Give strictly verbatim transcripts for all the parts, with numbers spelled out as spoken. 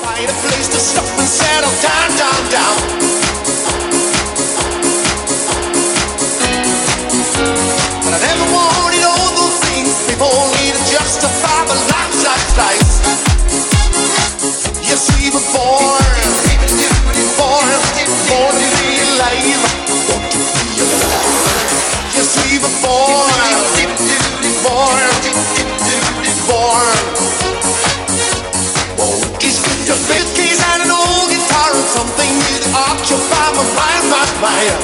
Find a place to stop and settle down, down, down. But I never wanted all those things people need to justify my life's life. Yes, we were born, born, born to be alive. Yes, we were born, born, born. It's just a bit keys and an old guitar and something that occupy my mind, my mind.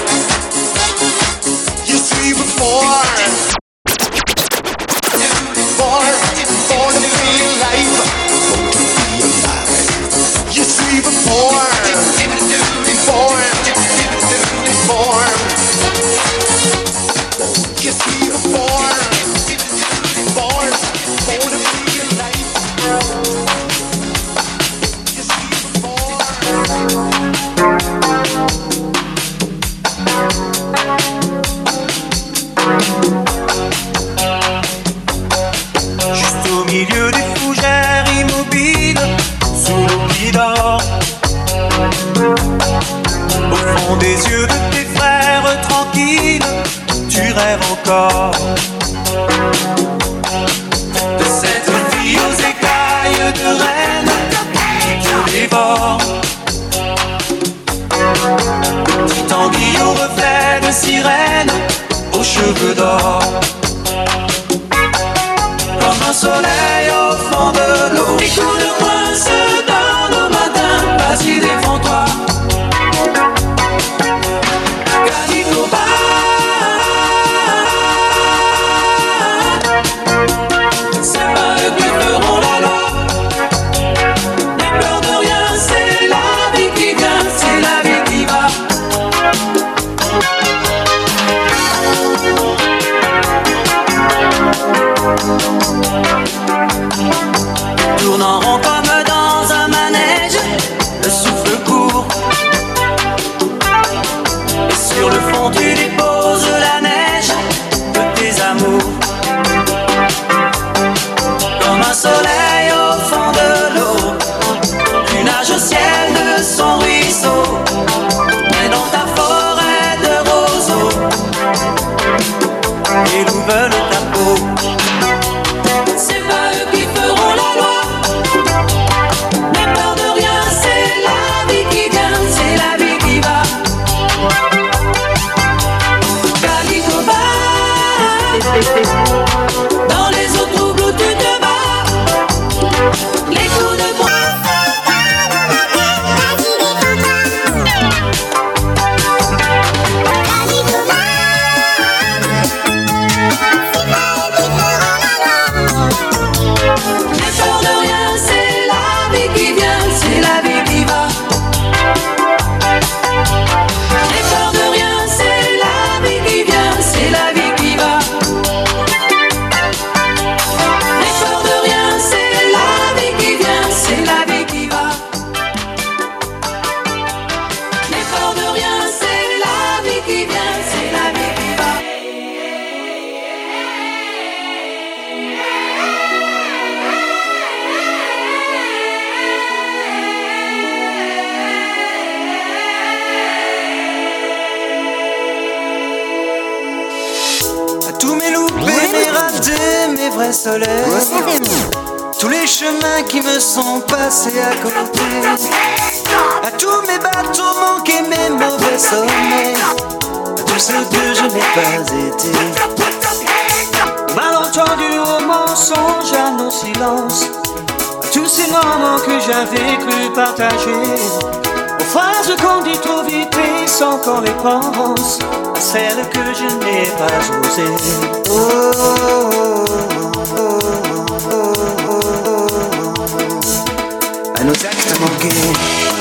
Yes, we were born, born, born to be alive. Yes, we were born, born, born. Yes, we were born, born, born to be alive. Yes, we were born. Juste au milieu des fougères immobiles, sous l'oubli d'or, au fond des yeux de tes frères tranquilles, tu rêves encore de cette fille aux écailles de reine qui te dévore, qui t'enguille au reflet de sirène, aux cheveux d'or, comme un soleil au fond de l'eau. Les coups de poing se donnent au matin, vas-y défends-toi. Calico bat. C'est pas eux qui feront la loi. N'aie peur de rien, c'est la vie qui vient, c'est la vie qui va. Tourne en rond comme dans un manège, le souffle court. Et sur le fond tu déposes la neige de tes amours. Comme un soleil au fond de l'eau, tu nages au ciel de son ruisseau, et dans ta forêt de roseaux, les loups veulent ta peau. C'est pas eux qui feront la loi. N'aie peur de rien, c'est la vie qui vient, c'est la vie qui va. Calico bat. Dans les eaux troubles où tu te bats. Les coups de poing. N'aie peur de rien, c'est la vie qui vient, c'est la vie qui va. N'aie peur de rien, c'est la vie qui vient, c'est la vie qui va. N'aie peur de rien, c'est la vie qui vient, c'est la vie qui va. N'aie peur de rien, c'est la vie qui vient, c'est la vie qui va. À tous mes loupés, mes ratés, mes vrais soleils, tous les chemins qui me sont passés à côté, à tous mes bateaux manqués, mes mauvais sommeils, à tous ceux que je n'ai pas été. Malentendu au mensonge, à nos silences, à tous ces moments que j'avais cru partager, aux phrases qu'on dit trop vite et sans qu'on les pense, à celles que je n'ai pas osées. Oh, oh, oh, oh, oh, oh, à nos actes manqués.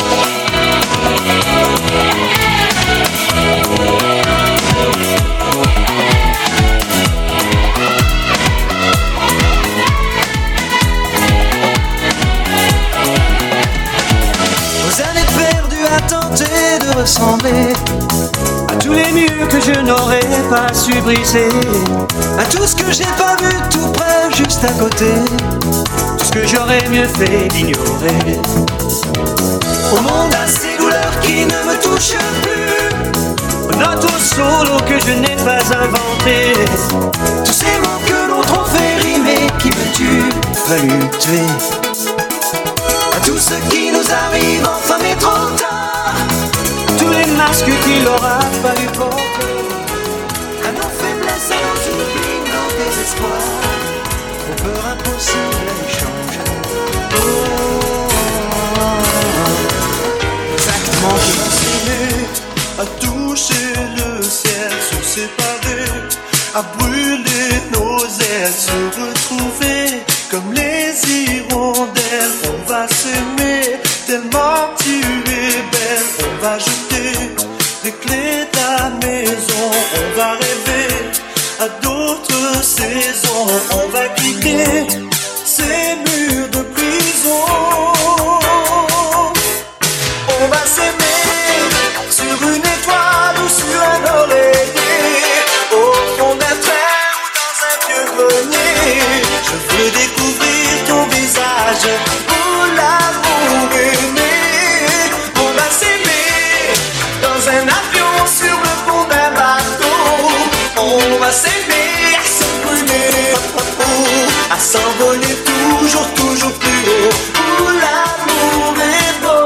Aux années perdues à tenter de ressembler à tous les murs que je n'aurais pas su briser, à tout ce que j'ai pas vu tout près, juste à côté, tout que j'aurais mieux fait d'ignorer. Au monde à ces douleurs qui ne me touchent plus, note au solo que je n'ai pas inventé. Tous ces mots que l'autre ont fait rimer, qui me tuent, fallu tuer. À tout ce qui nous arrive, enfin mais trop tard. Tous les masques qu'il aura fallu porter. À nos faiblesses, à nos oublis, nos désespoirs. Aux peurs impossibles à échanger. Oh, exactement à toucher le ciel, se séparer, à brûler nos ailes, se retrouver comme les hirondelles. On va s'aimer tellement tu es belle. On va jeter les clés de la maison. On va rêver à d'autres saisons. On va quitter ces murs de prison. On va s'aimer sur une étoile ou sur un oreiller, au fond d'un train ou dans un vieux grenier. Je veux découvrir ton visage pour l'amour aimé. On va s'aimer dans un avion sur le pont d'un bateau. On va s'aimer à se brûler, à s'envoler toujours, toujours plus haut. Où l'amour est beau.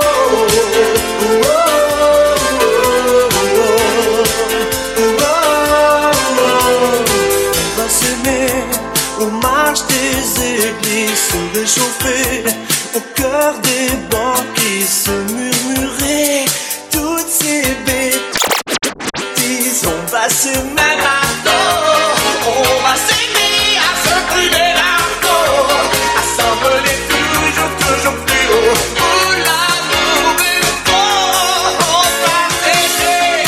Aux marches des églises se réchauffer, au cœur des bancs qui se murmuraient toutes ces bêtises. On va s'aimer maintenant, on va s'aimer à se brûler la peau, à s'envoler toujours, toujours plus haut. Où l'amour est beau, on va s'aimer.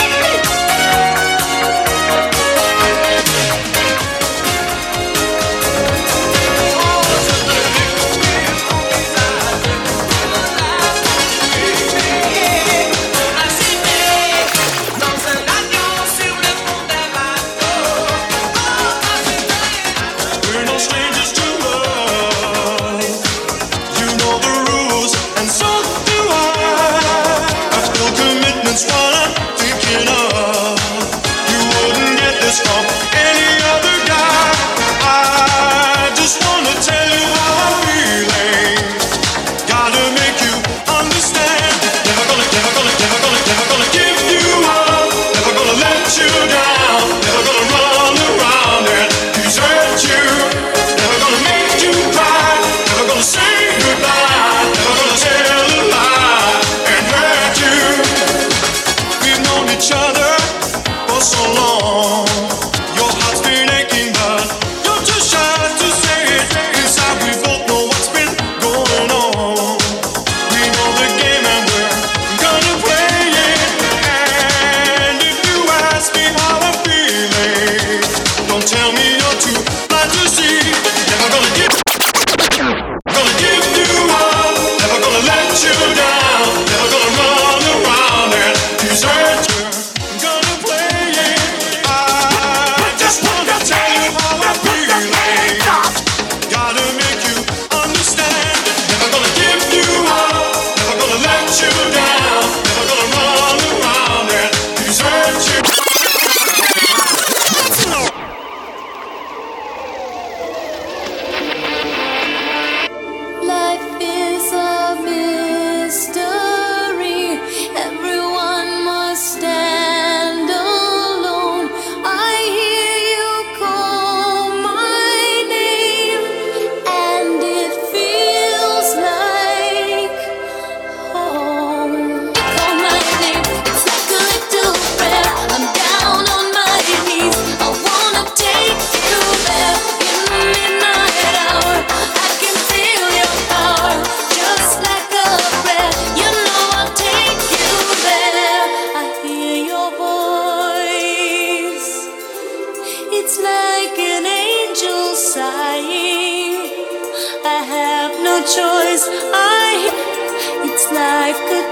choice. I, it's like a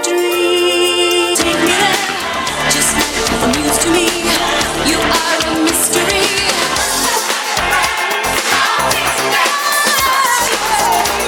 dream. Take me there, just like a muse to me. You are a mystery.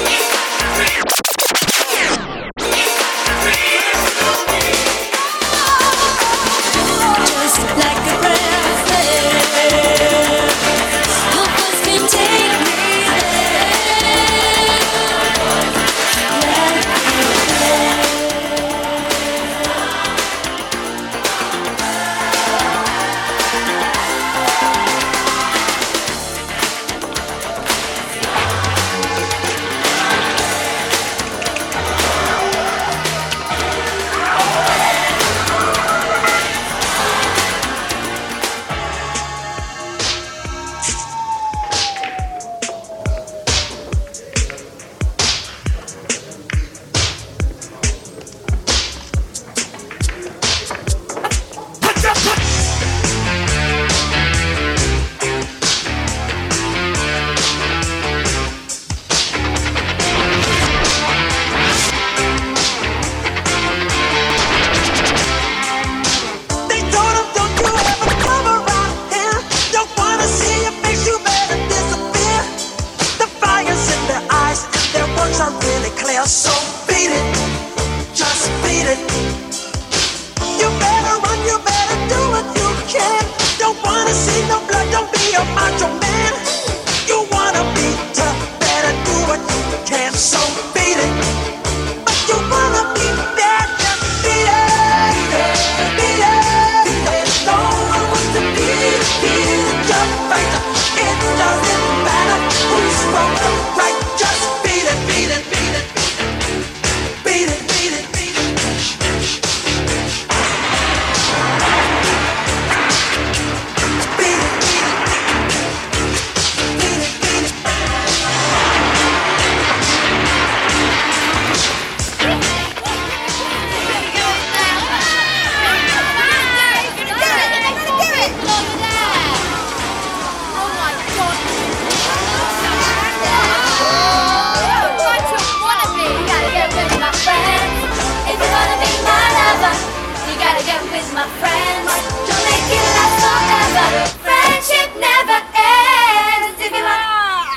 blood, don't be a macho man. You wanna be tough, better do what you can. So beat it, but you wanna be bad, just beat it, beat it, beat it. No one wants to beat it, beat it, just fight it. It doesn't matter who's wrong or right, just beat it, beat it, beat it, beat it, beat it, beat it. My friends, don't make it last forever. Friendship never ends. If you want,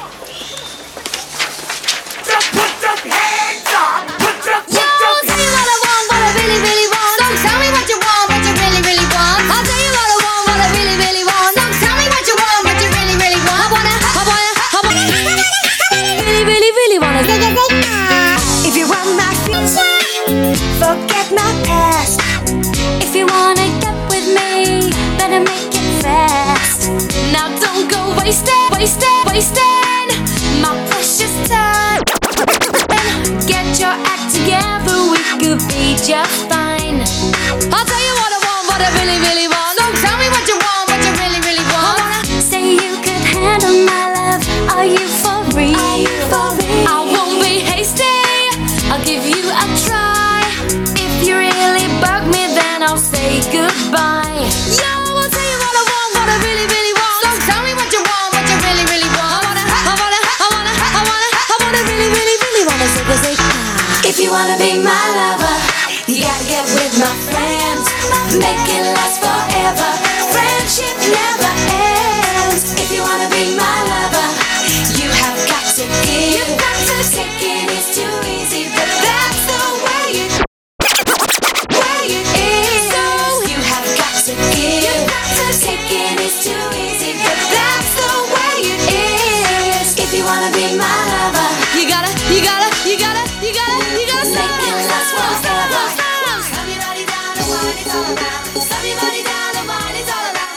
Just put your hands up. Put your, put yo, your I'll tell you what I want, what I really, really want. So tell me what you want, what you really, really want. I'll tell you what I want, what I really, really want. So tell me what you want, what you really, really want. I wanna, I wanna, I wanna, really, really, really wanna. If you want my future, forget my past. If you wanna get with me, better make it fast. Now don't go wasting, wasting, wasting my precious time. Get your act together, we could be just fine. I'll tell you what I want, what I really, really want. So tell me what you want, what you really, really want. I wanna say you could handle my love. Are you for real? Are you for real? I won't be hasty, I'll give you a try. If you really bug me, then I'll say goodbye. Yo, I'll tell you what I want, what I really, really want. So tell me what you want, what you really, really want. I wanna, I wanna, I wanna, I wanna, I wanna really, really, really wanna say, say, ah. If you wanna be my lover, you gotta get with my friends. Make it last forever. Friendship never ends. If you wanna be my lover, you have got to give. You've got to take it, it's too easy, but that's the way it way it is. So you have got to give. You've got to take it, it's too easy, but that's the way it is. If you wanna be my lover, you gotta, you gotta, you gotta, you gotta, you gotta make it last forever. Stop your body down and what it's all about. Stop your body down and what it's all about.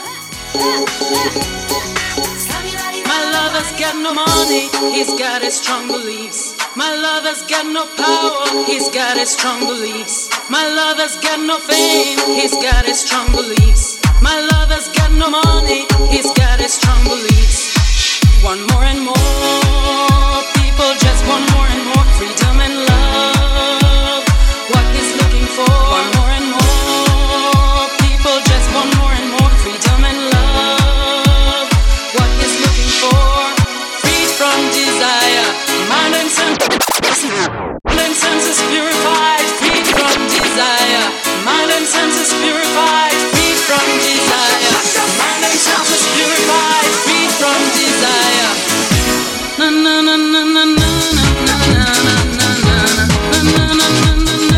Stop your body down. My lover's got no money, he's got his strong beliefs. My lover's got no power, he's got his strong beliefs. My lover's got no fame, he's got his strong beliefs. My lover's got no money, he's got his strong beliefs. Want more and more, people just want more and more freedom and love. What he's looking for, want more and more, people just want more and more freedom and love. What he's looking for, free from desire, mind and senses. Mind and senses purified, free from desire. Mind and senses purified, free from desire. Mind and senses purified, free from desire. Na na na na na na na na na na na na na.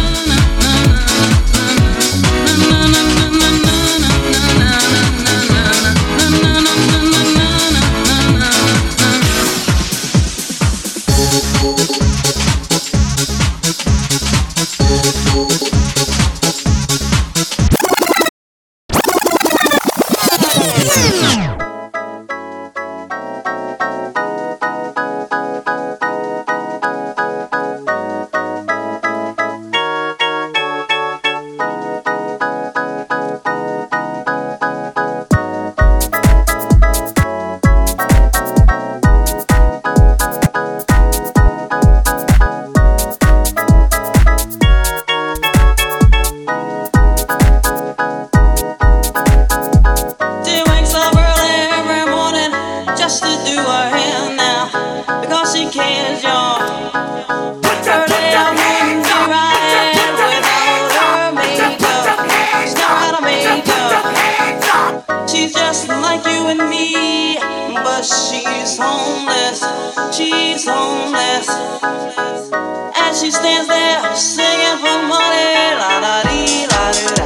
She's homeless, she's homeless. As she stands there singing for money, la la dee, la dee, la.